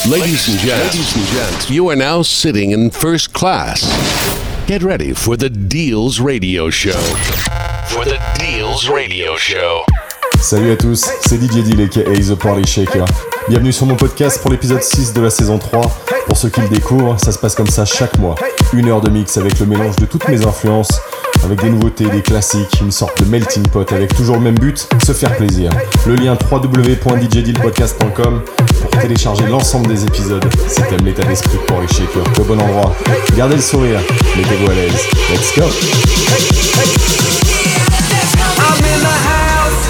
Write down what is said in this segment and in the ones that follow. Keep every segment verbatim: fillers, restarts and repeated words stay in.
Ladies and gents, ladies and gents, you are now sitting in first class. Get ready for the Deals Radio Show. For the Deals Radio Show. Salut à tous, c'est D J Deal aka The Party Shaker. Bienvenue sur mon podcast pour l'épisode six de la saison trois. Pour ceux qui le découvrent, ça se passe comme ça chaque mois. Une heure de mix avec le mélange de toutes mes influences, avec des nouveautés, des classiques, une sorte de melting pot avec toujours le même but, se faire plaisir. Le lien w w w point d j deal podcast point com pour télécharger l'ensemble des épisodes. Si t'aimes l'état d'esprit de Party Shaker, au bon endroit. Gardez le sourire, mettez-vous à l'aise. Let's go! I'm in the house.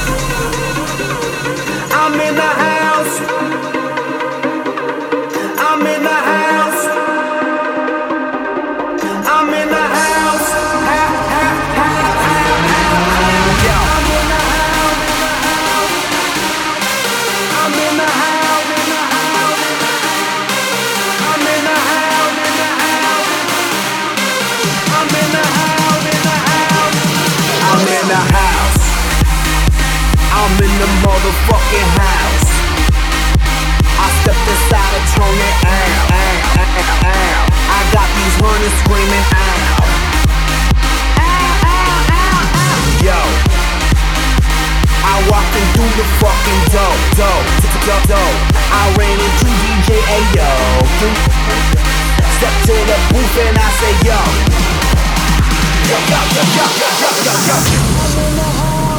I'm in the house. I'm in the house. I'm in the house. Ha, ha, ha, ha, ha. Yo. I'm in the house. I'm in the house. I'm in the house. I'm in the house. I'm in the motherfucking house. I stepped inside and turned it out, out, out, out. I got these runners screaming out. Ow, ow, ow, ow. Yo, I walked in through the fucking door, door, door, door. I ran into D J Ayo. Step to the booth and I say yo. Yo, yo, yo, yo, yo, yo, yo, yo.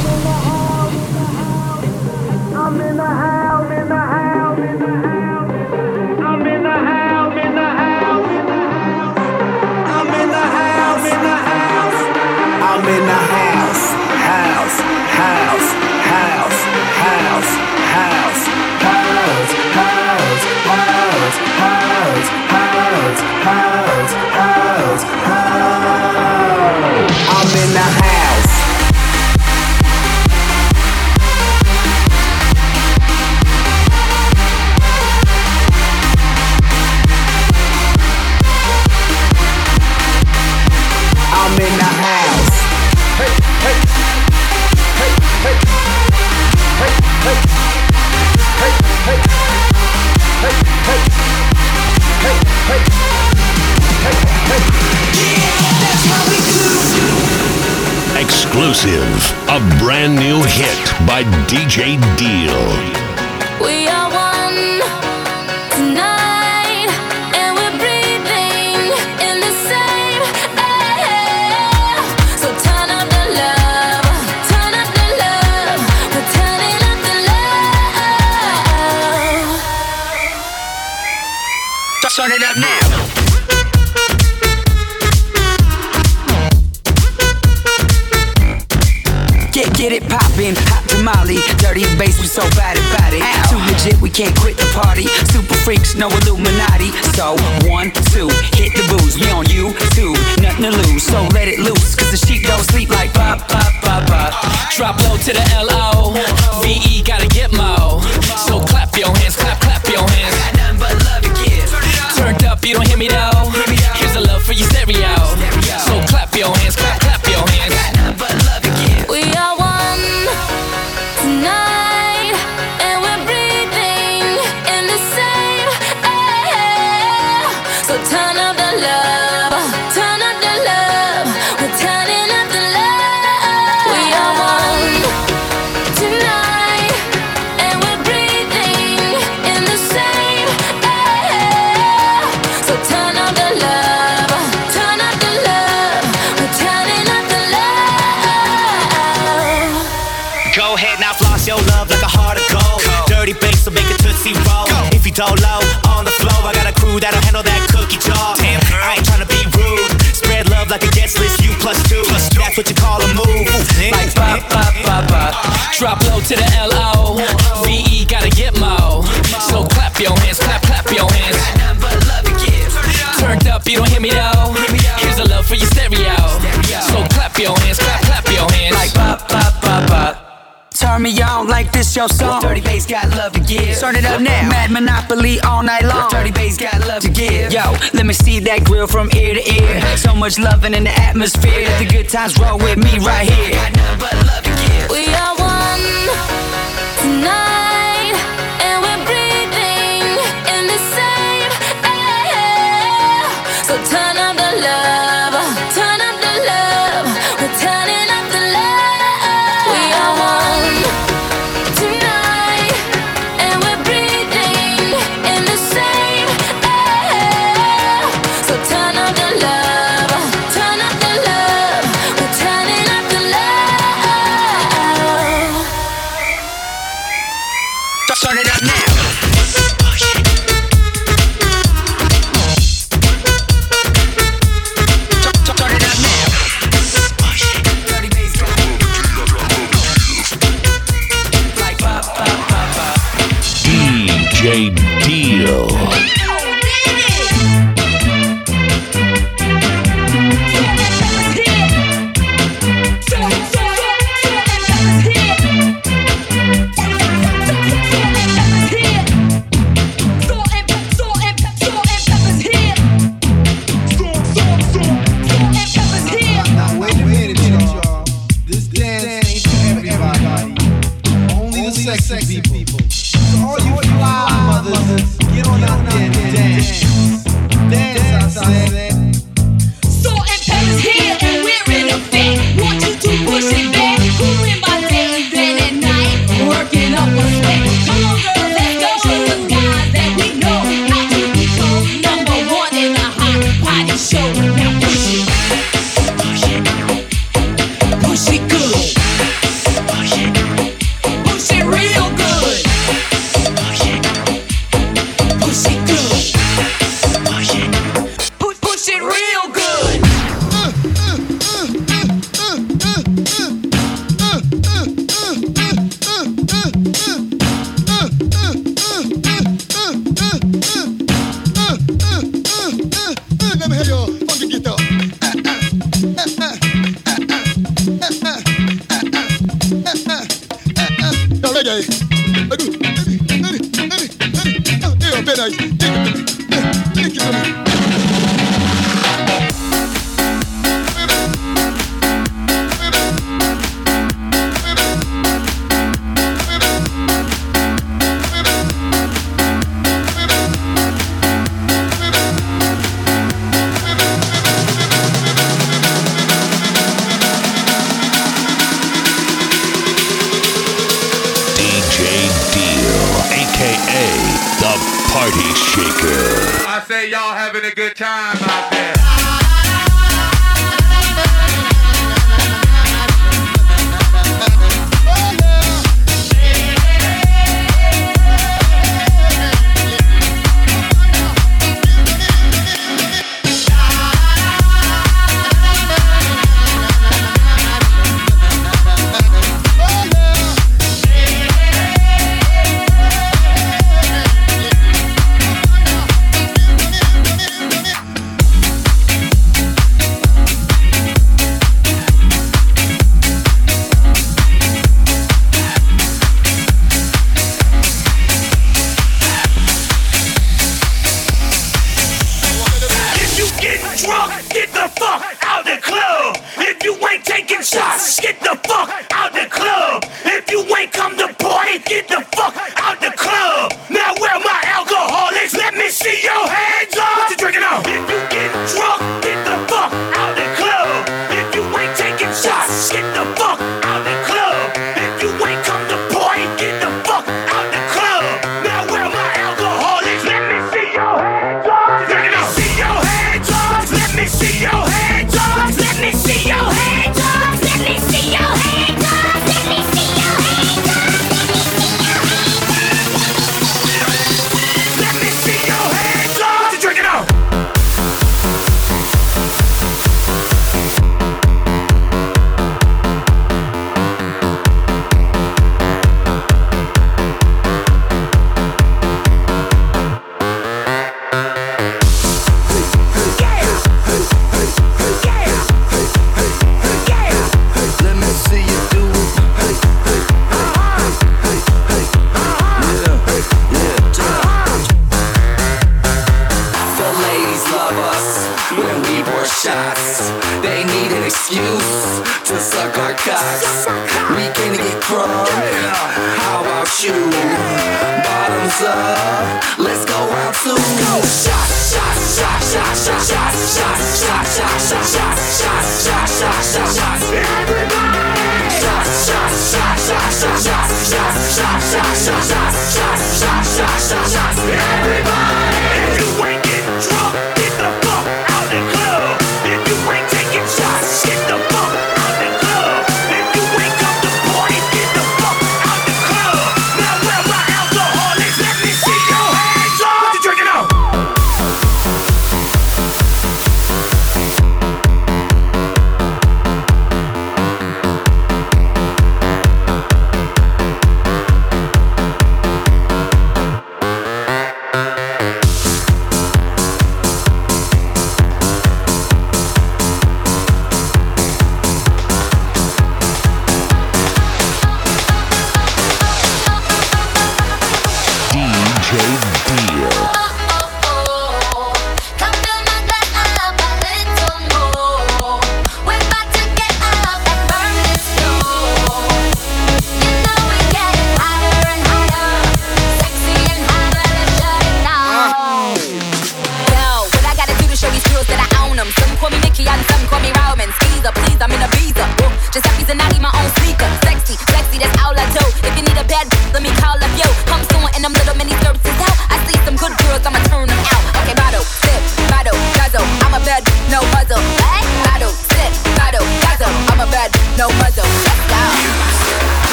I'm in the house, in the house, in the house. I'm in the house, in the house, in the house. I'm in the house, in the house. I'm in the house, house, house, house, house, house, house, house, house, house, house, house, house, house. I'm in the house. I'm in the house. Hey, hey, hey, hey, hey, hey, hey, hey, hey, hey, hey, hey, hey, hey. Yeah, that's how we do. Exclusive, a brand new hit by D J Deal. We are one tonight, and we're breathing in the same air. So turn up the love, turn up the love, we're turning up the love. Turn it up now. Get, get it poppin', hot tamale, dirty bass, we so bad about it. Too legit, we can't quit the party. Super freaks, no Illuminati. So, one, two, hit the booze. We on you, two, nothing to lose. So let it loose, cause the sheep don't sleep like pop, pop, pop, pop. Drop low to the L O V E, gotta get mo. So clap your hands, clap, clap your hands. Got nothing but love to give. Turned up, you don't hear me though. Here's the love for your stereo. So clap your hands, clap, clap your hands. Got nothing but love to give. We are one tonight, and we're breathing in the same air. So turn up the love, turn up the love, we're turning up the love. We are one tonight, and we're breathing in the same air. So turn up the love, turn up the love, we're turning up the love. Go ahead now, floss your love like a heart of gold. Dirty bass, so make it tootsie roll. If you don't low on the floor, I got a crew that'll handle that cookie jar. Damn, I ain't tryna be rude. Spread love like a guest list, you plus two. That's what you call a move. Like pop, pop, pop, pop. Drop low to the L O V E, gotta get mo. So clap your hands, clap, clap your hands. Got nothing but love to give. Turned up, you don't hear me though. Here's the love for your stereo. So clap your hands, clap, clap your hands. Like pop, pop, pop, pop. Turn me on like this your song. Dirty bass got love to give. Turn it up now. Mad Monopoly all night long. Dirty bass got love to give. Yo, let me see that grill from ear to ear. So much loving in the atmosphere. Let the good times roll with me right here. Got nothing but love to give. We are one tonight, and we're breathing in J Deal. Sexy people. So all you fly mothers, get on out there and dance. Dance, I said. Salt and pepper's here and we're in effect. Want you to push it back. Cooling my days day and night. Working up a sweat. Come on, girl, let's go. Show the guys that we know how to become number one in a hot party show. Now push it. Push it. Push it good. Push it. Push it real good. Push it. Push it good. Push it. Push, push it real good. Let me hear your funky guitar. Now reggae. Yeah, very nice. Take it from me. Party Shaker. I say y'all having a good time out there.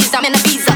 please, I'm in Ibiza.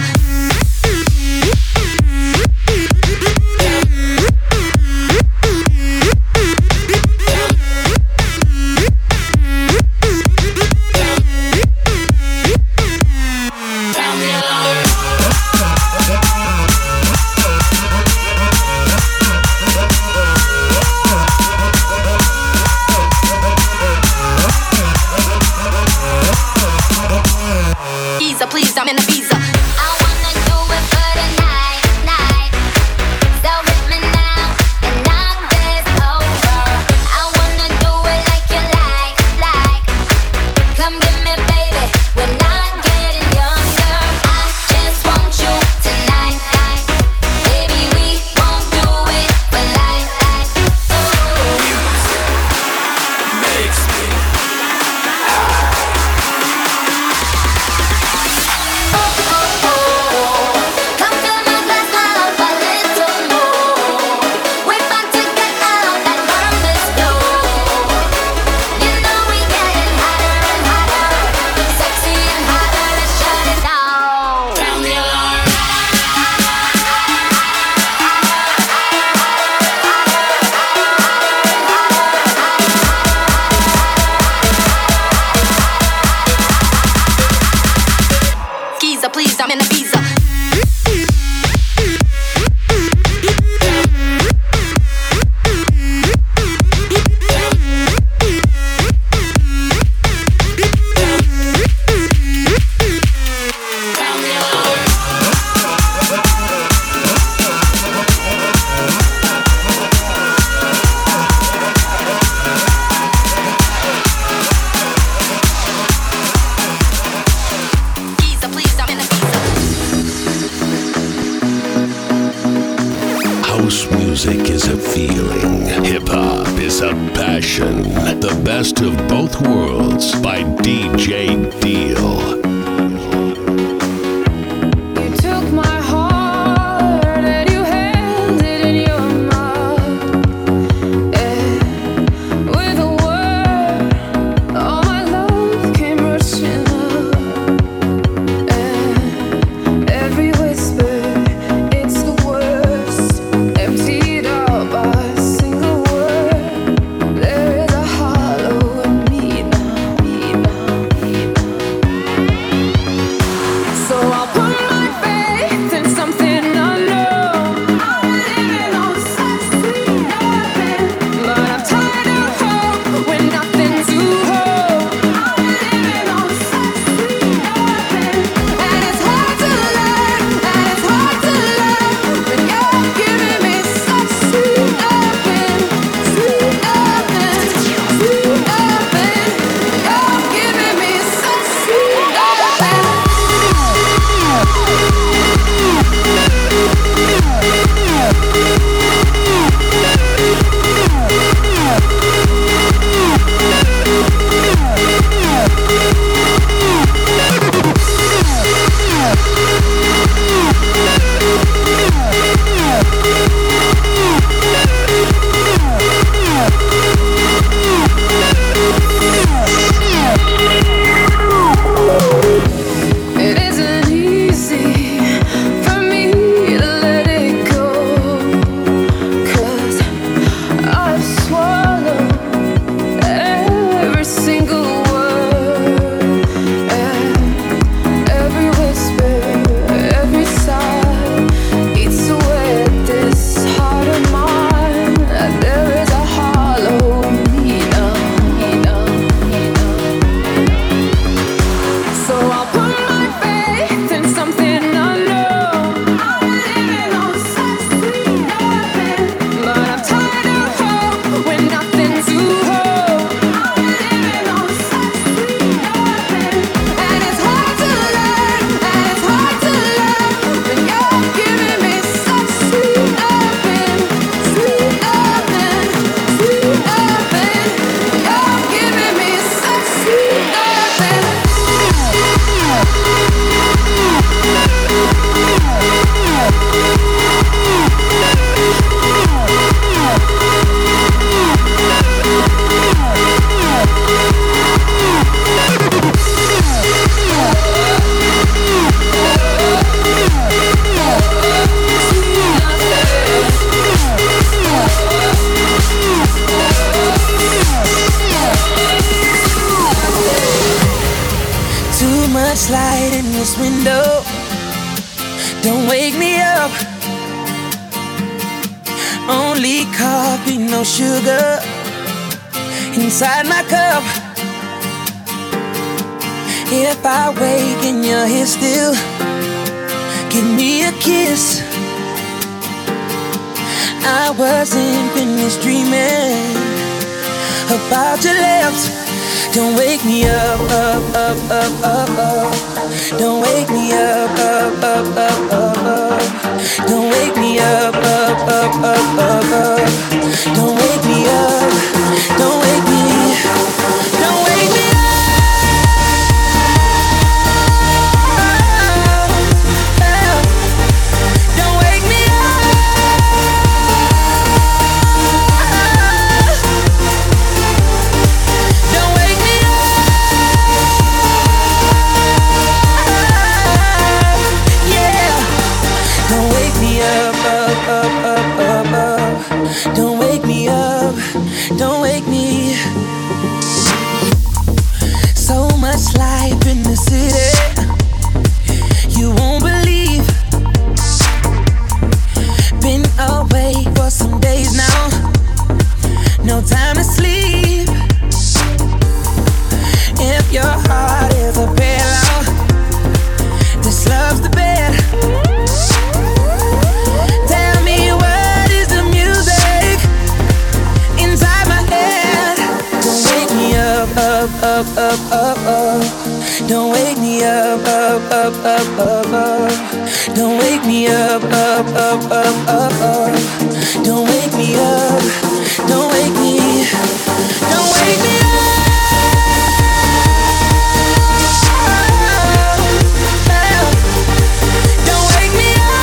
Please, I'm in Ibiza. I wanna do it for the night, night. So hit me now and knock this over. I wanna do it like you like, like. Come get me, baby. We're not getting younger. I just want you tonight, night. Baby, we won't do it for life, life. Makes me please, I'm in Ibiza. Music is a feeling. Hip-hop is a passion. The best of both worlds by D J Deal. Now Too much light in this window. Don't wake me up. Only coffee, no sugar inside my cup. If I wake and you're here still, give me a kiss. I wasn't finished dreaming about your lips. Don't wake me up, up, up, up, up, up. Don't wake me up, up, up, up, up, up. Don't wake me up, up, up, up, up, up. Don't wake me up. Don't wake me. Don't wake me up. Don't wake me up. Don't wake me up. Yeah. Don't wake me up, up, up, up, up, up. Don't wake me up. Don't wake me. So much life in the city, you won't believe. Been away for some days now, no time to sleep. If your heart is a pillow, this love's the bed. Tell me what is the music inside my head. Don't wake me up, up, up, up, up, up. Don't wake me up, up, up, up, up, up. Don't wake me up, up, up, up, up, up. Don't wake me up. Don't wake me. Don't wake me up. Don't wake me up.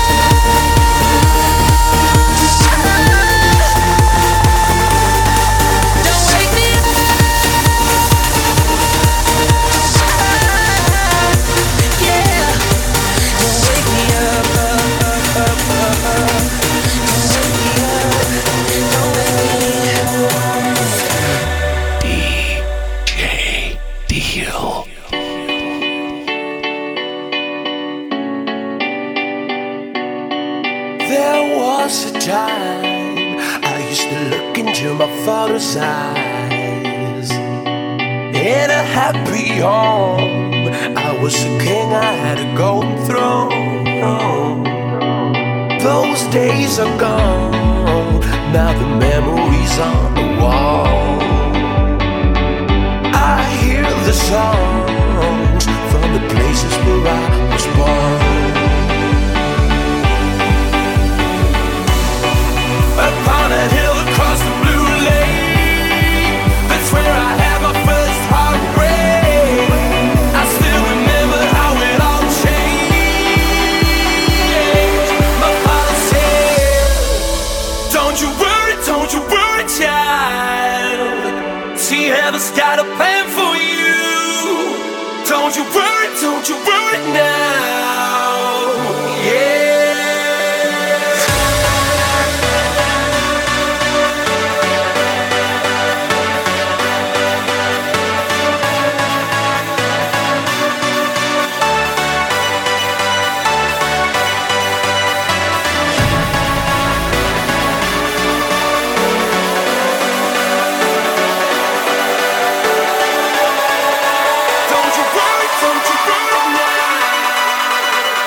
Don't wake me up. Yeah. Don't wake me up, up, up, up, up, up. Don't wake me up. Don't wake me up. D J Deal. There was a time I used to look into my father's eyes. In a happy home, I was a king, I had a golden throne. Those days are gone, now the memories on the wall. I hear the songs from the places where I was born. Upon a hill across the blue lake, that's where I had my first heartbreak. I still remember how it all changed. My father said, don't you worry, don't you worry, child. See, heaven's got a plan for you. Don't you worry, don't you worry now. Yeah. Don't you worry, don't you worry now.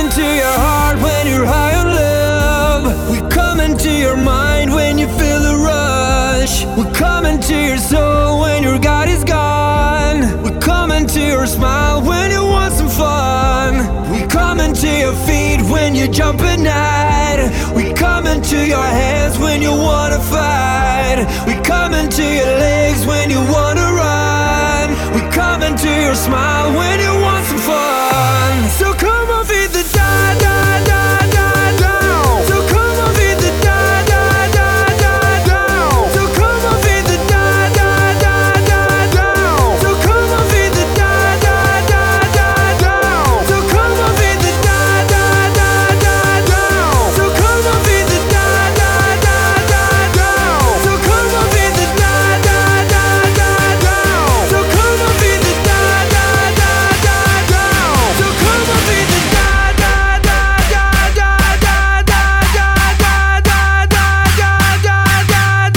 into your heart when you're high on love. We come into your mind when you feel the rush. We come into your soul when your God is gone. We come into your smile when you want some fun. We come into your feet when you jump at night. We come into your hands when you wanna fight. We come into your legs when you wanna run. We come into your smile when you want some fun. So come on, feed the da da da da down. So come on, feed the da da da da down. So come on, feed the da da da da down. So come on, feed the da da da da down. So come on, feed the da da da da down. So come on, feed the da da da da down. So come on, feed the da da da da down. So come on, feed the da da da da down. So come on, feed the da da da da da da da da da da da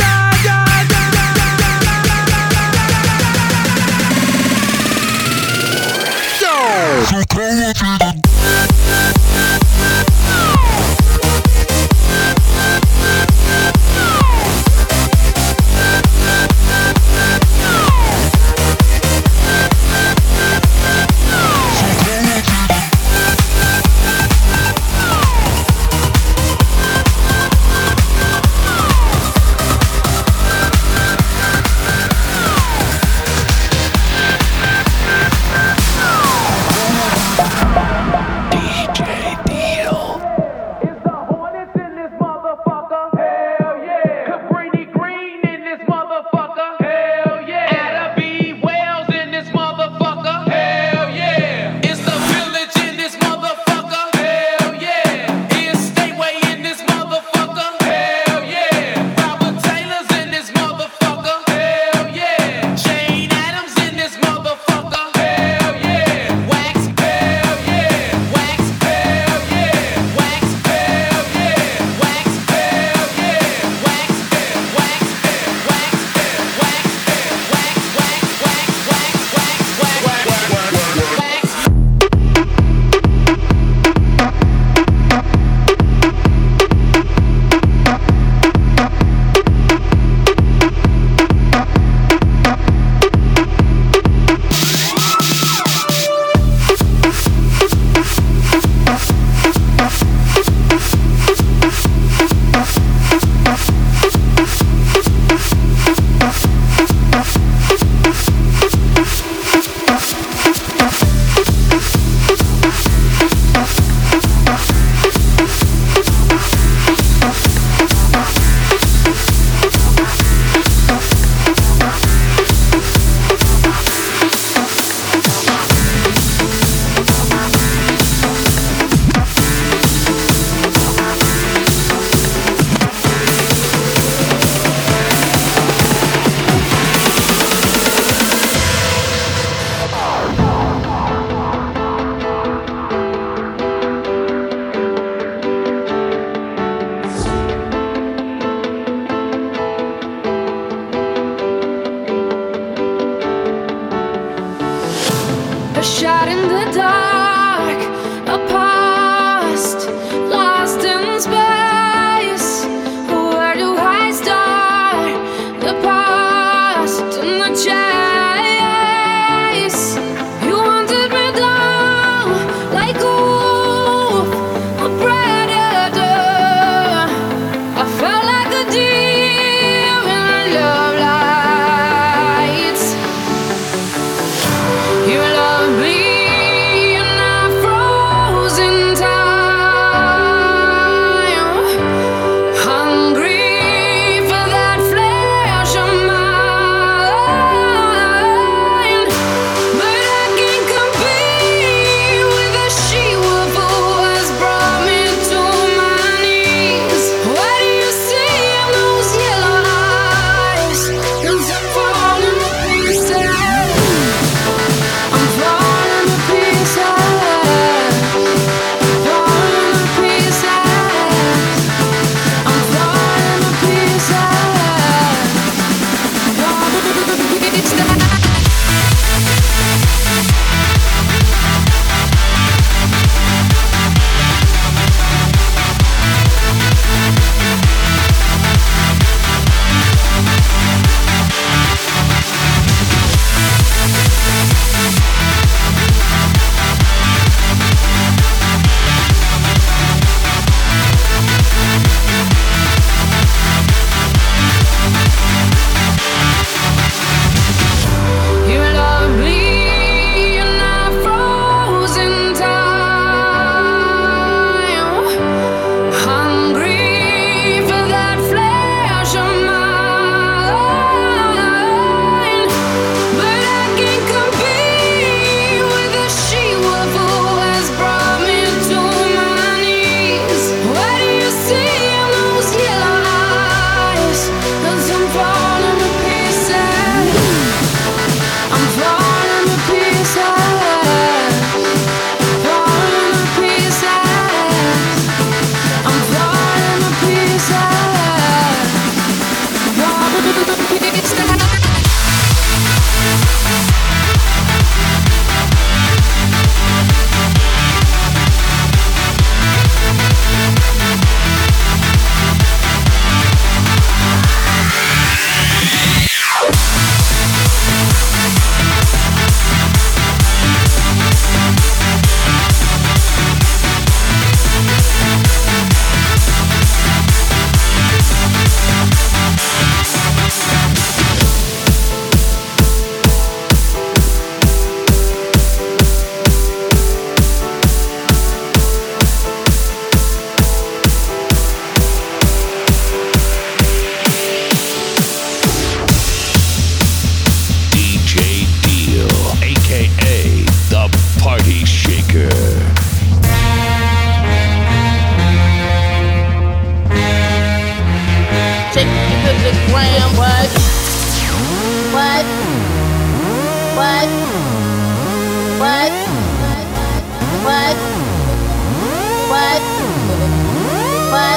What? What? What?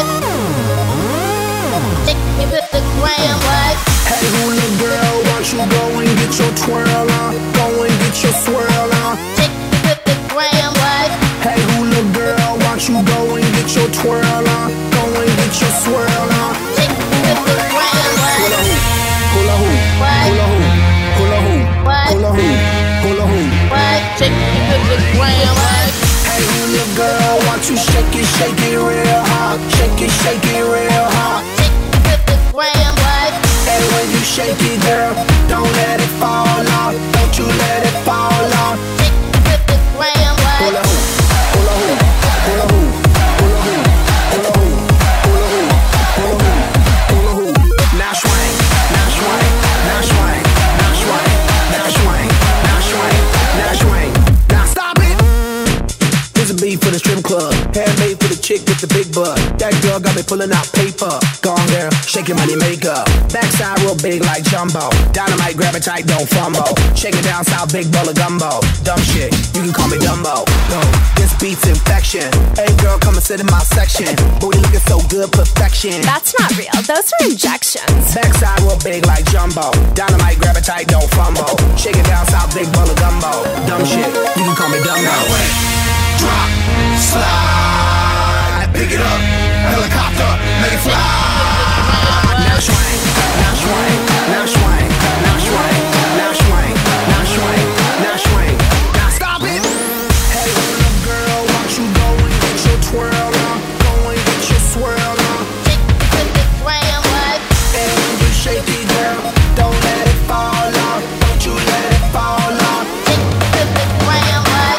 Take me with the gram, what? Hey, hula girl, why don't you go and get your twirl on? Go and get your swirl on. Take me with the gram, what? Hey, hula girl, why don't you go and get your twirl on? Go and get your swirl on. Take me with the gram, what? Hula hoop, hula hoop, What? hula hoop, hula hoop, What? hula hoop, hula hoop. What? Take me with the gram, what? Hey, hula girl, why don't you shake it, shake it real hard? Shake it, shake it real hard. Take me with the gram, what? And when you shake it, girl, don't let it fall off. Don't you let it fall off. Take me with the gram, what? Hula hoop, hula hoop, hula hoop, hula hoop, hula hoop, hula hoop, hula hoop, hula hoop. Now swing, now swing, now swing, now swing, now swing, now swing, now swing. Now stop it. Here's a beat for the strip club. Handmade for the chick with the big butt. That girl got me pulling out paper. Gone girl, shake your money makeup. Backside real big like jumbo. Dynamite, grab it tight, don't fumble. Shake it down south, big bowl of gumbo. Dumb shit, you can call me Dumbo. No, this beat's infection. Hey girl, come and sit in my section. Booty looking so good, perfection. That's not real, those are injections. Backside real big like jumbo. Dynamite, grab it tight, don't fumble. Shake it down south, big bowl of gumbo. Dumb shit, you can call me Dumbo. Drop, slide, pick it up, helicopter, let it fly. Now swing, now swing, now swing, now swing, now swing, now swing, now swing. Now stop it. Hey, little girl, why don't you go and get your twirl on? Go and get your swirl on. Take me with the gram, what? And when you shake it, girl, don't let it fall off. Don't you let it fall off. Take me with the gram, what?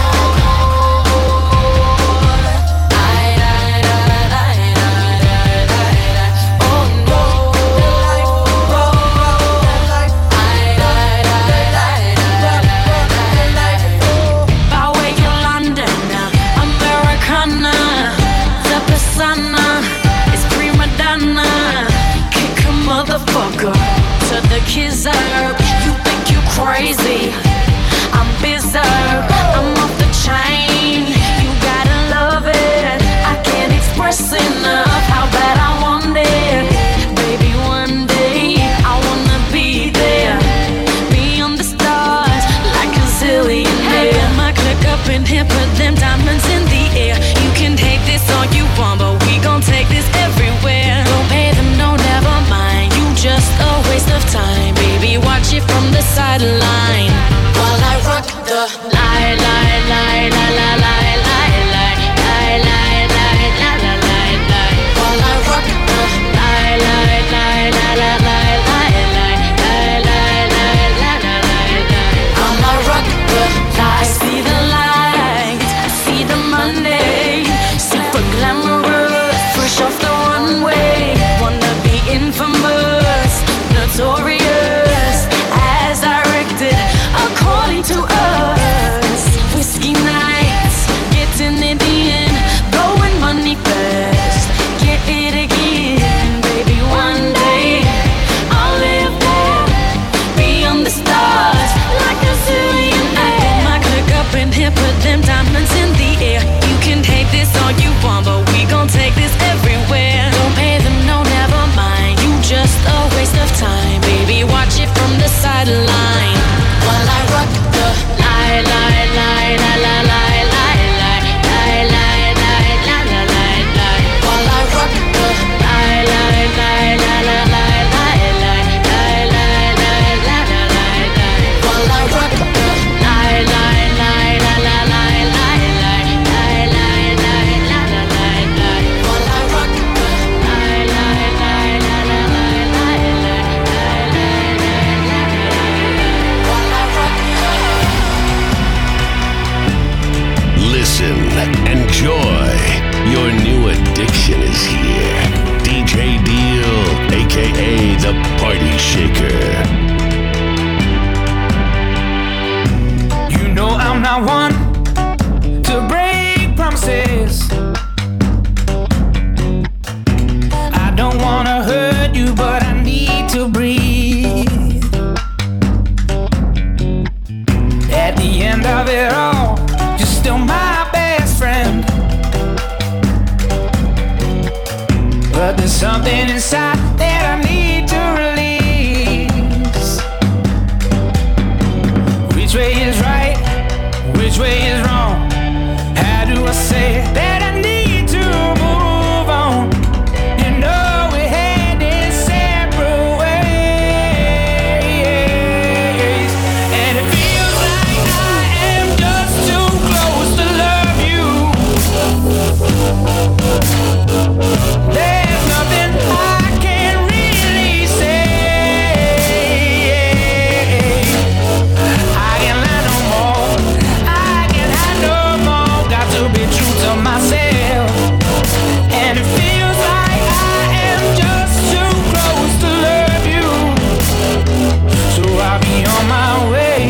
To the kisser, you think you crazy? I'm berserk, I'm off the chain. You gotta love it. I can't express enough how bad I want it. Baby, one day I wanna be there, beyond the stars, like a zillionaire. Put my click up in here, put them diamonds in the air. You can take this all you want, but we gon' take this everywhere. Don't pay them, no, never mind. You just a waste of time, baby. Watch it from the sideline while I rock the lie, lie, lie, lie, lie, lie, lie, lie, lie, lie, lie, lie, lie, lie, lie. While I rock the lie, lie, lie, lie, lie, lie, lie, lie, lie, lie, lie, lie, lie, lie. I'ma rock the lie. I see the light, I see the Monday, super glamorous, fresh off the runway. Wanna be infamous, notorious, as directed according to us. Whiskey nights, getting it in, blowing money fast, get it again, baby. One day I'll live there, beyond the stars, like a zillionaire. Put my click up in here, put them diamonds in the air. You can take this all you want, but we gon' take this everywhere. Don't pay them, no, never mind. You just a waste of time, baby. Watch it from the sideline while I rock the lie, lie, lie, lie, lie, lie, lie, lie, lie, lie, lie, lie, lie, lie, lie. While I rock the lie, lie, lie, lie, lie, lie, lie, lie, lie, lie, lie, lie, lie, lie. While I rock the lie, lie, lie, lie, lie, lie, lie, lie, lie, lie, lie, lie, lie, lie. While I rock the lie, lie, lie, lie, lie, lie, lie, lie, lie, lie, lie. While I rock Listen, enjoy. Your new addiction is here. D J Deal, aka the Party Shaker. You know I'm not one to break promises. I don't wanna hurt you, but I need to breathe. At the end of it all, you're still mine. something inside that I need to release. Which way is right? Which way is wrong? How do I say that I need to move on? You know we're heading separate ways, and it feels like I am just too close to love you. There's nothing I can really say. I can't lie no more. I can't hide no more. Got to be true to myself. And it feels like I am just too close to love you. So I'll be on my way.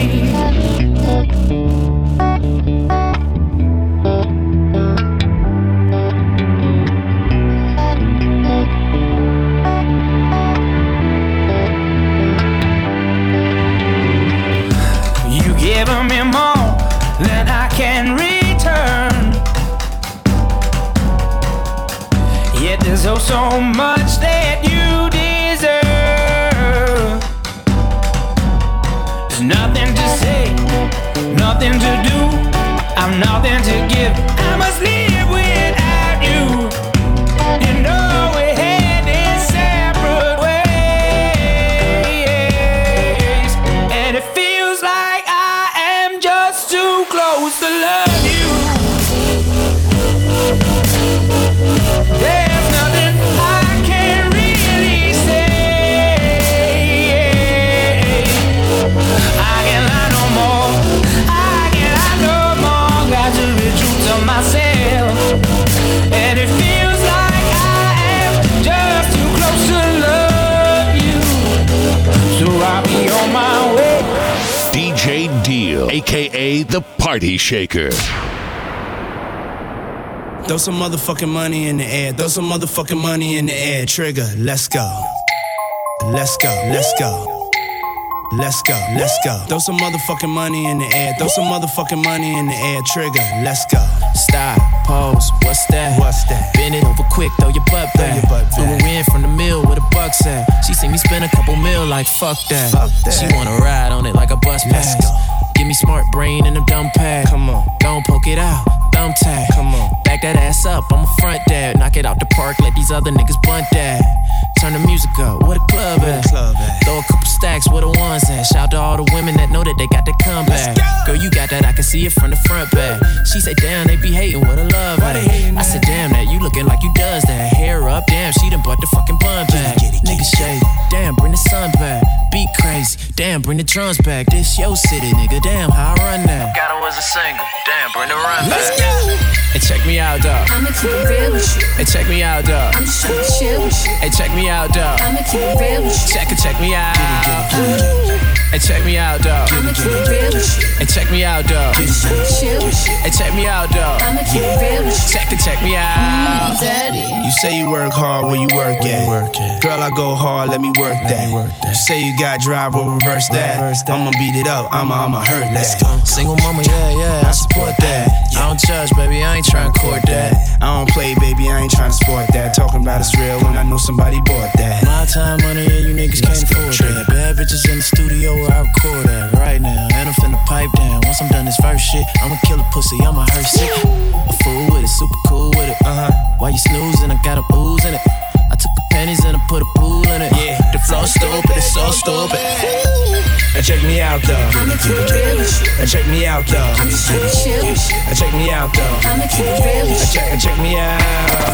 You giving me more than I can return. Yet there's oh so much that you deserve. There's nothing to say, nothing to do. I'm nothing to give. I must live without you. You know we're heading separate ways, and it feels like I am just too close to love you. There's nothing I can really say. I can't lie no more. I can't lie no more. Got to be true to myself, and it feels like I am just too close to love you. So I'll be on my way. D J Deal, aka the Party Shaker. Throw some motherfucking money in the air. Throw some motherfucking money in the air. Trigger, let's go. Let's go, let's go. Let's go, let's go. Throw some motherfucking money in the air. Throw some motherfucking money in the air. Trigger, let's go. Stop, pose, what's that? What's that? Bend it over quick, throw your butt back. Your butt Flew her in from the mill with a bucks at. She seen me spend a couple mil like fuck that. Fuck that. She wanna ride on it like a bus pass. Give me smart brain and a dumb pad. Come on. Don't poke it out, thumb tag. Come on. Back that ass up, I'm a front dad. Knock it out the park, let these other niggas bunt that. Turn the music up, where the club at? Club at. Throw a couple stacks, where the ones at? Shout to all the women that know that they got that comeback. Girl, you got that, I can see it from the front back. She say, damn, they be hating, what a love at. I said, damn, that you looking like you does that. Hair up, damn, she done bought the fucking bun back. Niggas shade, damn, bring the sun back. Beat crazy, damn, bring the drums back. This your city, nigga, damn, how I run that. Got her as a single, damn, bring the run back. Hey, check me out, dog. I'ma keep it real with you. Hey, check me out, dog. I'm just tryna chill with you. Hey, check me out, dog. I'ma keep it real with you. Check it, check me out. Hey, check me out, dog. I'ma keep it real with you. Hey, check me out, dog. I'm just tryna chill with you. Hey, check me out, dog. I'ma keep it real with you. Check it, check me out. Daddy. You say you work hard, where you work at? Girl, I go hard, let me work that. You say you got drive, well reverse that. I'ma beat it up, I'ma, I'ma hurt that. Single mama, yeah, yeah, I support that. I don't judge, baby, I ain't tryna court that. I don't play, baby, I ain't tryna sport that. Talking about it's real when I know somebody bought that. My time, money, yeah, you niggas can't afford that. Bad bitches in the studio where I record at right now. And I'm finna pipe down. Once I'm done this verse shit, I'ma kill a pussy, I'ma hearse it. A fool with it, super cool with it. Uh-huh. While you snoozing, I got a ooze in it. I took the pennies and I put a pool in it. Yeah. The flow stupid, it's so stupid. And check me out though. I'ma keep it real with you. And check me out though. I'm just tryna chill with you. And check me out though. I'ma keep it real with And you. check, and check me out.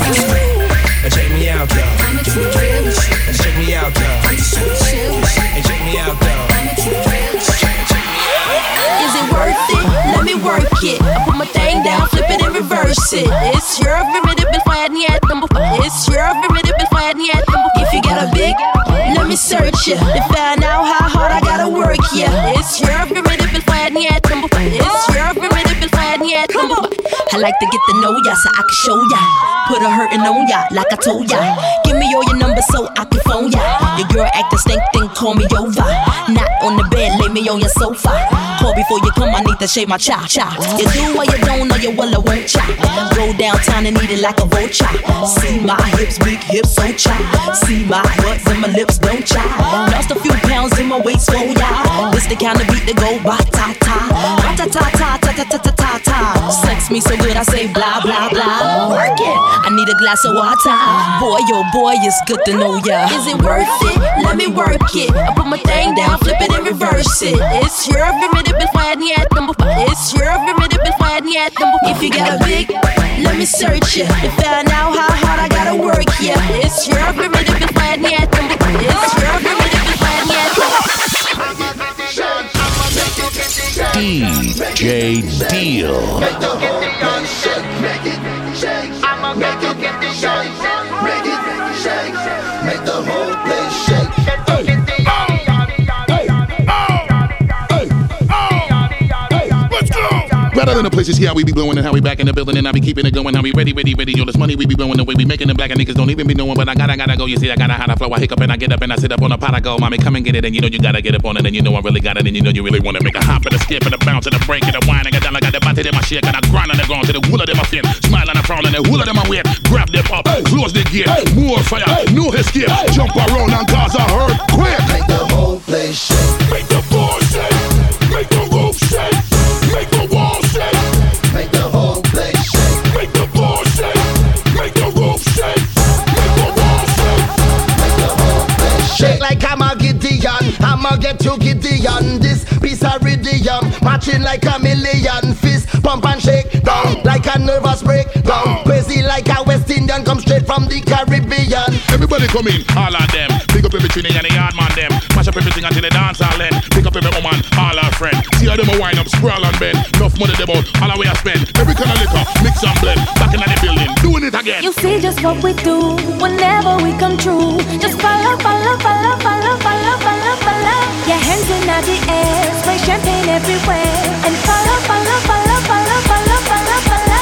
And check me out though. I'ma keep it real with you. And check me out though. I'm just tryna chill with you. And check me out though. I'ma keep it real with you. Is it worth it? Let me work it. I put my thing down, flip it and reverse it. It's your primitive and fire yet number. It's your primitive and fire yet number. If you got a big, let me search ya to find out how hard I gotta work ya. It's your primitive and fire yet number. It's your primitive and fire yet number. I like to get to know ya so I can show ya. Put a hurtin' on ya like I told ya. Give me all your numbers so I can phone ya. Your girl actin' stink, then call me over. Not on the bed, lay me on your sofa. Call before you come, I need to shave my cha cha. You do or you don't, or you will or won't cha. Go downtown and eat it like a vulture. See my hips, big hips, so chai. See my butts and my lips, don't chai. Lost a few pounds in my waist, oh yeah. This the kind of beat that go ba-ta-ta. Ba-ta-ta-ta-ta-ta-ta-ta-ta. Sex me so good I say blah, blah, blah. Work it, I need a glass of water. Boy, oh boy, it's good to know ya. Is it worth it? Let me work it. I put my thing down, flip it and reverse it. It's your formidable fire, it's your formidable fire. If you got a big, let me search ya to find out how hard I gotta work ya. It's your formidable fire, it's your formidable fire. D J Deal. Make the whole place shake, make it shake. I'ma make you get the shake, make it shake, make the whole place shake. Rather than the places here, how we be blowing and how we back in the building and I be keeping it going. How we ready, ready, ready. Yo, this money we be blowing the way we making it black and niggas don't even be knowing. But I gotta, gotta go. You see, I gotta how to flow. I hiccup and I get up and I sit up on a pot. I go, mommy, come and get it. And you know you gotta get up on it. And you know I really got it. And you know you really wanna make a hop and a skip and a bounce and a break and a whine and a down. I got the body in my shit and I grind on the ground to the wool of them I fin. Smile and I frown and the wool of them I wear. Grab them up, close the gate. More fire, no escape. Jump around and cause a hurt quick. Make the whole place shake. Make the floor shake. Make the roof shake. Make the wall shake. Make the whole place shake. Make the floor shake. Make the roof shake. Make the wall shake. Make the whole place shake. Like I'm a Gideon, I'ma get to Gideon. This piece of radium, matching like a million. Fist pump and shake down like a nervous breakdown. Crazy like a West Indian, come straight from the Caribbean. Everybody come in, all of them. Pick up every trinity and the yard man them. Mash up everything until the dance all end. Pick up every woman, all our friend. See how them a wind up, sprawl and bend. Enough money them out, all our way I spend. Every kind of liquor, mix and blend. Back in the building, doing it again. You see just what we do whenever we come true. Just follow, follow, follow, follow, follow, follow, follow. Your hands in the air, spray champagne everywhere. And follow, follow, follow, follow, follow, follow, follow.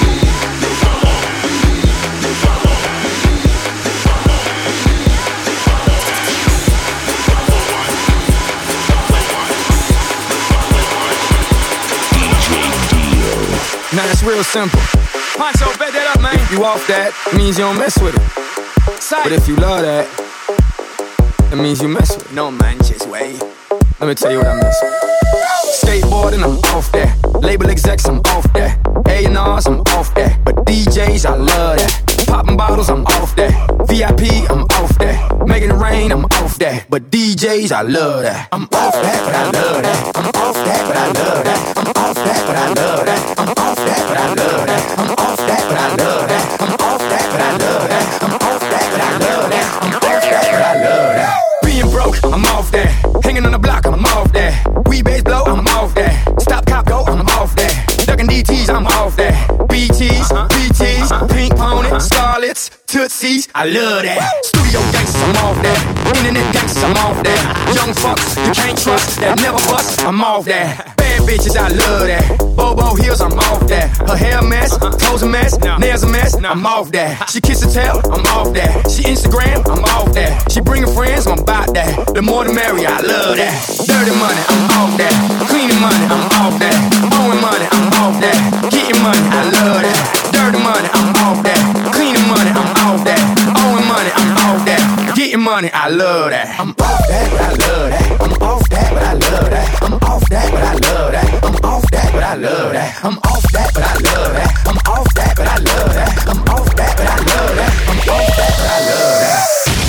Now it's real simple. Poncho, bet that up, man. If you off that, means you don't mess with it. But if you love that, that means you mess with it. No manches way. Let me tell you what I mess with. Skateboarding, I'm off that. Label execs, I'm off that. A and R's, I'm off that. But D Js, I love that. Popping bottles, I'm off that. V I P, I'm off that. Making it rain, I'm off that. But D Js, I love that. I'm off that, but I love that. I'm off that, but I love that. I'm off that, but I love that. I'm off that, but I love that. I'm off that, but I love that. I'm off that, but I love that. I'm off that, but I love that. I'm off that, but I love that. Being broke, I'm off that. Hanging on the block, I'm off that. We bass blow, I'm off that. Stop cop go, I'm off that. Ducking D Ts, I'm off that. B Ts, B Ts, Pink Pony, Scarlets, Tootsies, I love that. Studio gangsters, I'm off that. Internet gangsters, I'm off that. Young fucks, you can't trust, that never bust, I'm off that. Bad bitches, I love that. Bobo heels, I'm off that. Her hair a mess, clothes a mess, nails a mess, I'm off that. She kiss and tell, I'm off that. She Instagram, I'm off that. She bringing friends, I'm about that. The more the merrier, I love that. Dirty money, I'm off that. Cleaning money, I'm off that. Owing money, I'm off that. Getting money, I love that. Dirty money, I'm off that. Cleaning money, I'm off that. Owing money, I'm off that. Getting money, I love that. I'm off that, but I love that. I'm off that, but I love that. I'm off that, but I love that. I'm off that, but I love that. I'm off that, but I love that. I'm off that, but I love that. I'm off that, but I love that. I'm off that, but I love that.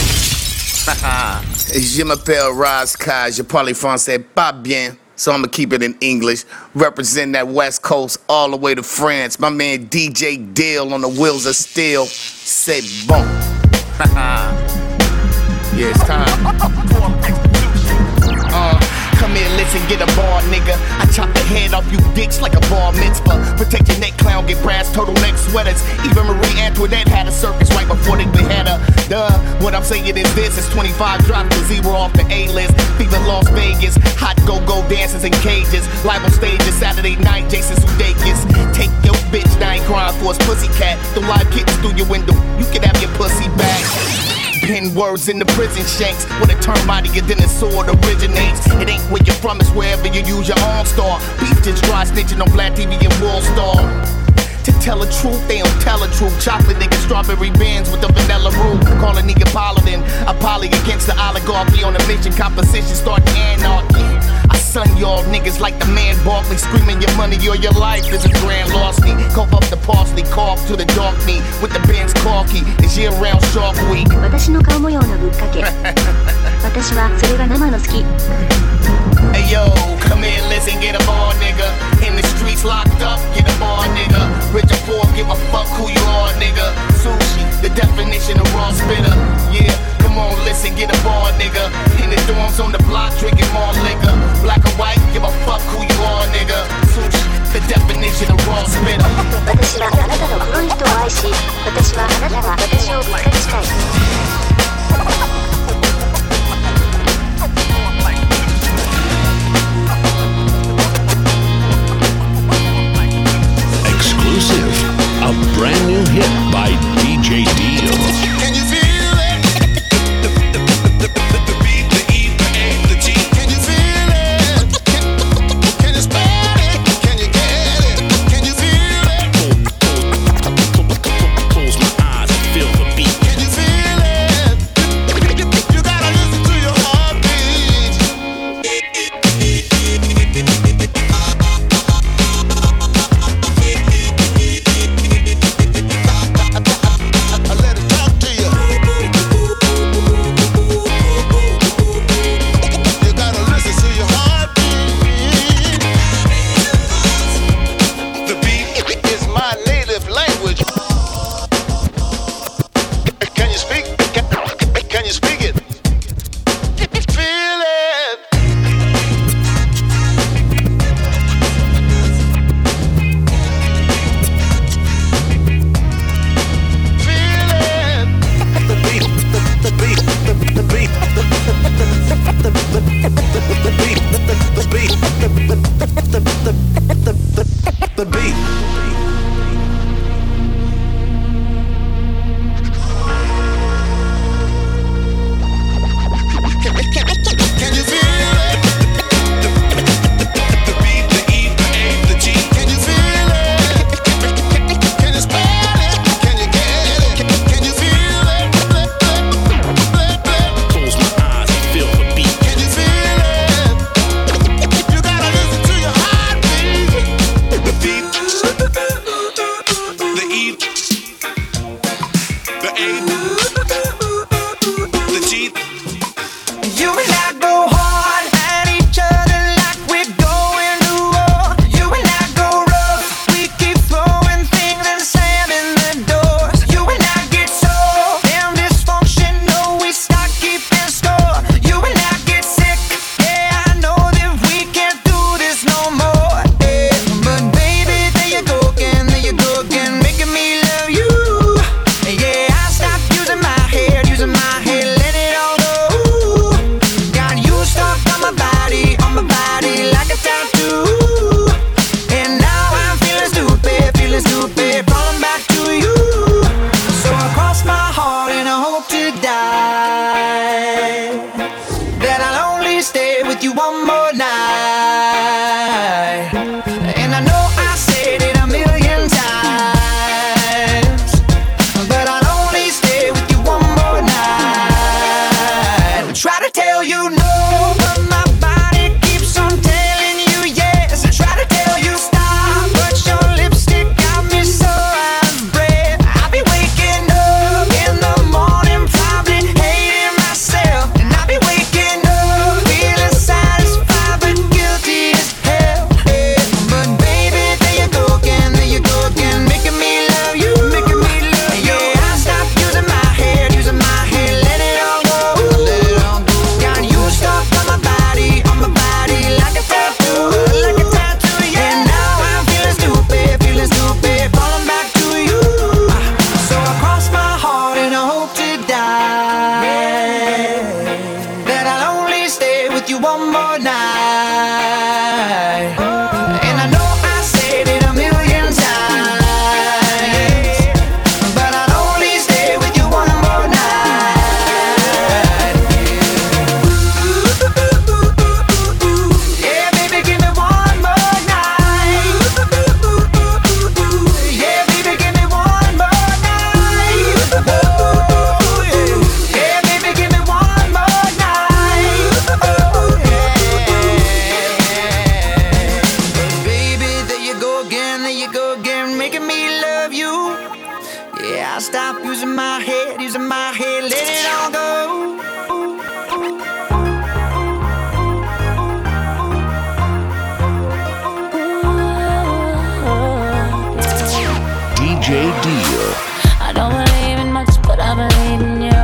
Je m'appelle Razkaj, je parle français pas bien, so I'ma keep it in English. Represent that West Coast all the way to France. My man D J Deal on the wheels of steel. C'est bon. Yeah, it's time. Uh, come here, listen, get a bar, nigga. I chop the head off you dicks like a bar mitzvah. Protect your neck, clown, get brass turtleneck sweaters. Even Marie Antoinette had a circus right before they behead her. Duh, what I'm saying is this, it's twenty-five dropped to zero off the A-list. Fever Las Vegas, hot go-go dances in cages. Live on stages, Saturday night, Jason Sudeikis. Take your bitch, now ain't crying for his pussycat. The live kittens through your window, you can have your pussy back. Pen words in the prison shanks. When it turn mightier than the sword originates. It ain't where you're from, it's wherever you use your own star. Beef just dry snitching on Black T V and World Star. To tell the truth, they don't tell the truth. Chocolate nigga, strawberry bands with the vanilla roux. Call a nigga Paladin, a poly against the oligarchy on a mission. Composition start anarchy. I son y'all niggas like the man Barkley, screaming your money or your life is a grand lost me. Cough up the parsley, cough to the dark me with the band's corky. It's year round Shark Week. 私の顔模様のぶっかけ私はそれが生の好き Hey yo, come here, listen, get a bar, nigga. In the streets locked up, get a bar, nigga. Rich or poor, give a fuck who you are, nigga. Sushi, the definition of raw spitter. Yeah, come on, listen, get a bar, nigga. In the dorms on the block, drinking more liquor. Black or white, give a fuck who you are, nigga. Sushi, the definition of raw spitter. 私はあなたの黒い人を愛し私はあなたが私をびっくりしたい Exclusive, a brand new hit by D J Deal. Can you feel it? The, the, the, the, the, the beat, the E, the A, the G. Can you feel it? Can, can you spell it? Can you get it? Can you feel it? Close my eyes and feel the beat. Can you feel it? You, you gotta listen to your heartbeat. I let it talk to you. You gotta listen to your heartbeat. The beat is my native language. Can you speak? Can, can you speak it? Feel it. Feel it. The beat, the, the beat, the, the beat, the, the, the, the, the beat, the, the beat, the, the, the, the, the, the beat. Can you feel it? The beat, the E, the A, the G. Can you feel it? Can you spell it? Can you get it? Can you feel it? Close my eyes and feel the beat. Can you feel it? You gotta listen to your heartbeat. The beat, the E, the A, the G. You and I go hard at each other like we're going to war. You and I go rough, we keep throwing things and slamming the doors. You and I get so damn dysfunctional, we start keeping score. You and I get sick, yeah, I know that we can't do this no more. Yeah. But baby, there you go again, there you go again, making me love Yeah, I stopped using my head, using my head, let it all go. D J Deal. I don't believe in much, but I believe in you.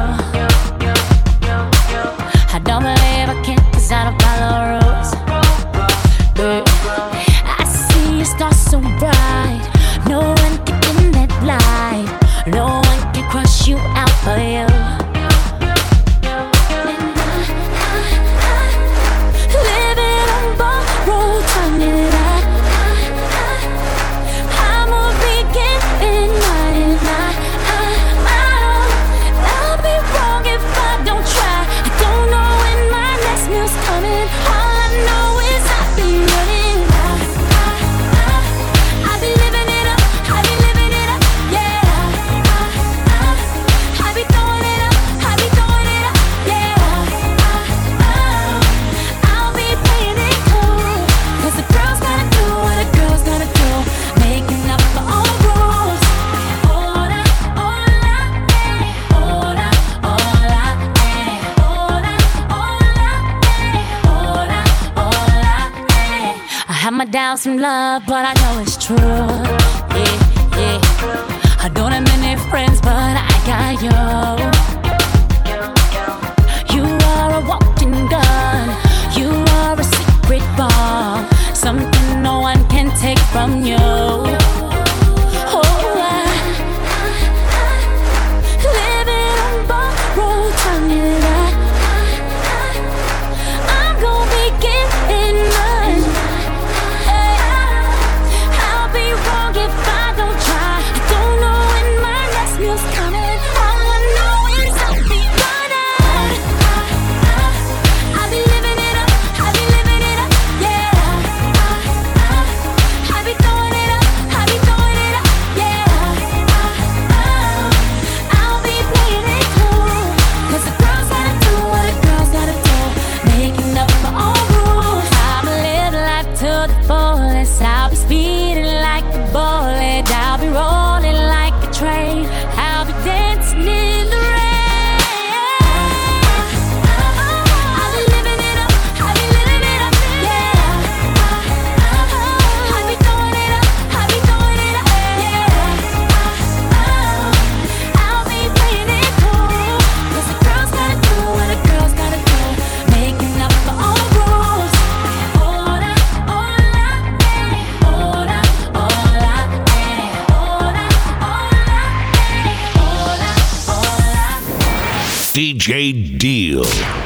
I don't believe I can, cause I don't follow rules. Yeah. I see your stars so bright. No one can dim that light. No one can crush you out for you. Living on borrowed time, yeah. I'm a beacon in night. I'll be wrong if I don't try. I don't know when my next meal's coming. All I know is I'll be running. I'll be living it up. I'll be living it up, yeah. I'll be throwing it up. I'll be throwing it up, yeah. I'll be playing it cool. Cause the girls gotta do what a girl's gotta do. Making up for all rules. Hola, hola, eh. Hola, hola, eh. Hola, hola, eh. Hola, hola, eh. I have my doubts in love, but I know it's true. Yeah, yeah. I don't have many friends, but I got you. You are a walking gun. You are a secret bomb. Something no one can take from you. Oh, I, living on borrowed time, yeah. I'm gonna be getting mine. I'll be wrong if I don't try. I don't know when my next meal's coming. All I know is I'll be running. I'll be living it up. I'll be living it up, yeah. I'll be throwing it up. I'll be throwing it up, yeah. I'll be playing it cool. Cause the girls gotta do what a girl's gotta do. Making up for all rules. I'ma live life to the fullest. I'll be speeding like a bullet. I'll be rolling like a train. I'll be dancing in the rain. I'll be living it up. I'll be living it up, yeah. I'll be throwing it up. I'll be throwing it up, yeah. I'll be playing it cool. Cause the girls gotta do what a girl's gotta do. Making up for all rules. Hola, hola, eh. Hola, hola, eh. Hola, hola, eh. Hola, hola. D J Deal.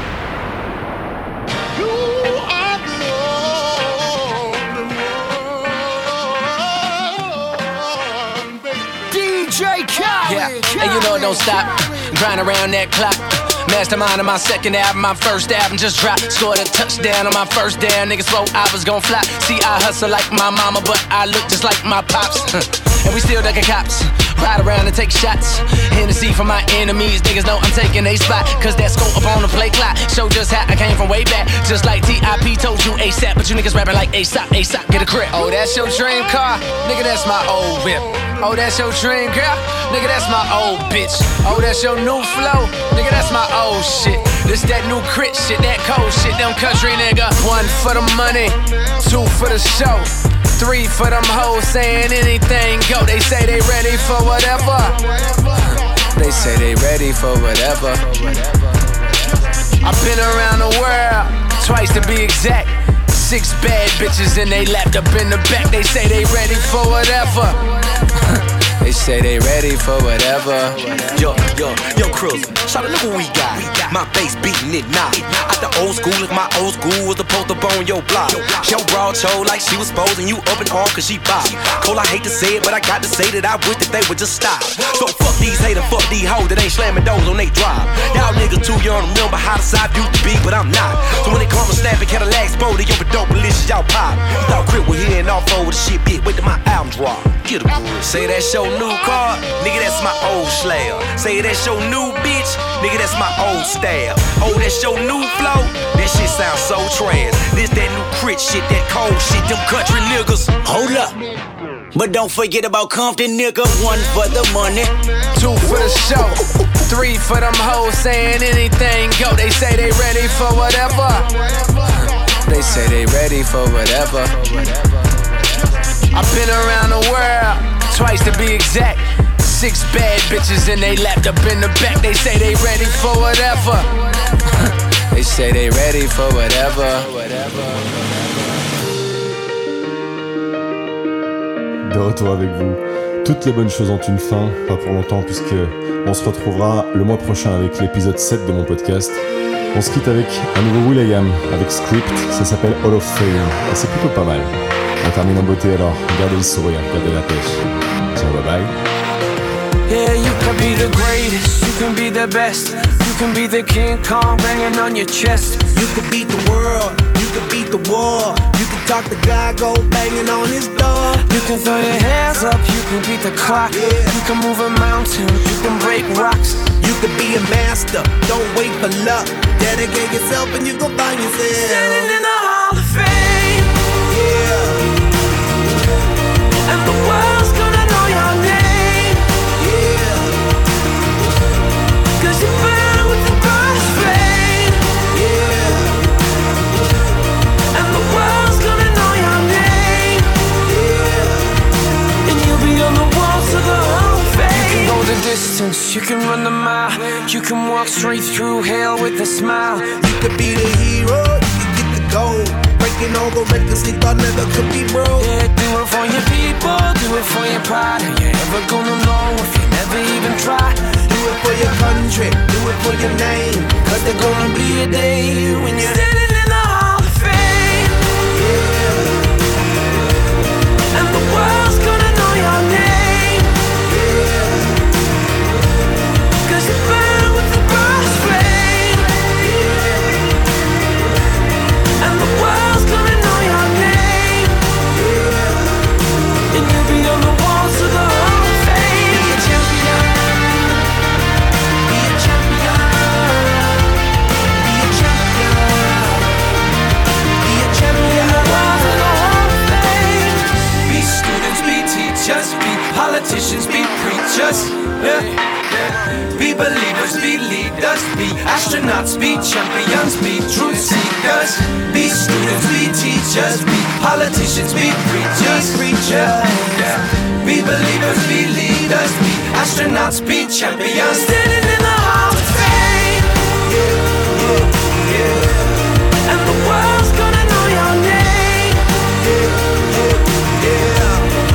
D J Khaled. Yeah, and you know it don't stop. Grind around that clock. Mastermind on my second album, my first album just dropped. Scored a touchdown on my first down. Niggas swore I was gon' flop. See, I hustle like my mama, but I look just like my pops. And we still ducking cops. Ride around and take shots. Hennessy for my enemies. Niggas know I'm taking a spot. Cause that scope up on the play clock. Show just how I came from way back. Just like T I P told you ASAP. But you niggas rapping like ASAP, ASAP, get a grip. Oh, that's your dream car? Nigga, that's my old whip. Oh, that's your dream girl? Nigga, that's my old bitch. Oh, that's your new flow? Nigga, that's my old shit. This that new crit shit, that cold shit, them country nigga. One for the money, two for the show, three for them hoes saying anything go. They say they ready for whatever. They say they ready for whatever. I've been around the world, twice to be exact. Six bad bitches and they lapped up in the back. They say they ready for whatever. They say they ready for whatever. Yo, yo, yo, Cruiser, shout out, look what we got. My bass beating it now. Out the old school, like my old school was supposed to bone your block. Yo, broad show like she was posing you up and on cause she bop. Cole, I hate to say it, but I got to say that I wish that they would just stop. So fuck these haters, fuck these hoes that ain't slamming doors on they drive. Y'all niggas too young to remember how the side used to be, but I'm not. So when they come and snapping Cadillacs, bro, they over dope malicious, y'all pop. You thought Crip was here and off over the shit, bitch, wait till my album drop. Get a grip. Say that's your new car, nigga, that's my old slab. Say that's your new bitch, nigga, that's my old stab. Oh, that's your new flow, that shit sounds so trash. This that new crit shit, that cold shit, them country niggas. Hold up. But don't forget about Compton, nigga. One for the money, two for the show, three for them hoes saying anything go. They say they ready for whatever. They say they ready for whatever. I've been around the world, twice to be exact. Six bad bitches and they lapped up in the back. They say they ready for whatever. They say they ready for whatever. De retour avec vous. Toutes les bonnes choses ont une fin, pas pour longtemps puisque on se retrouvera le mois prochain avec l'épisode sept de mon podcast. On se quitte avec un nouveau will.i.am avec Script, ça s'appelle Hall of Fame et c'est plutôt pas mal. On termine en beauté alors, gardez le sourire, gardez la pêche. Ciao, bye bye. Yeah, you can be the greatest, you can be the best. You can be the King Kong banging on your chest. You can beat the world, you can beat the war. You can talk the guy, go banging on his door. You can throw your hands up, you can beat the clock. Yeah. You can move a mountain, you can break rocks. You can be a master, don't wait for luck. Dedicate yourself and you gon' find yourself standing in the Hall of Fame. Yeah. And the world's gonna know your name. You burn with the burst flame, yeah. And the world's gonna know your name, yeah. And you'll be on the walls of the Hall of Fame. You can go the distance, you can run the mile. You can walk straight through hell with a smile. You could be the hero, you can get the gold. Breaking all the records they thought never could be broke. Yeah, do it for your people, do it for your pride. Are you ever gonna know if you never even try? Do it for your country, do it for your name. Cause there's gonna be a day when you're standing in the Hall of Fame, yeah. And the world's gonna know your name, yeah. Cause you burn with the burst flame, yeah. And the world's gonna know your name, yeah. And you'll be on the walls of the Hall of Fame. Be a champion. Just be politicians, be preachers, yeah. Be believers, be leaders, be astronauts, be champions, be truth seekers. Be students, be teachers, be politicians, be preachers, preachers, yeah. Be believers, be leaders, be astronauts, be champions. Standing in the Hall of Fame, yeah, yeah, yeah. And the world's gonna know your name, yeah, yeah, yeah.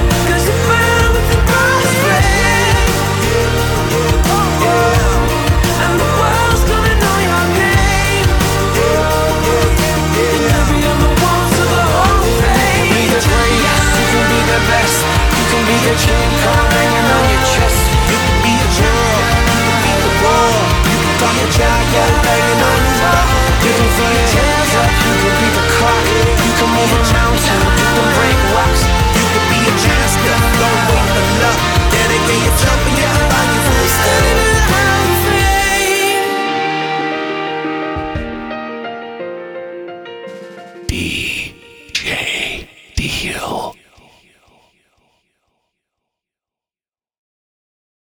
Be the King Kong hanging on your chest. You can be a general, you can beat the war. You can talk a child, yeah, banging on his door. You can throw your hands up, you can beat the clock. You can move a mountain, you can break rocks. You can be a master, don't wait for luck. Dedicate yourself and you can find yourself standing in the Hall of Fame. D J Deal.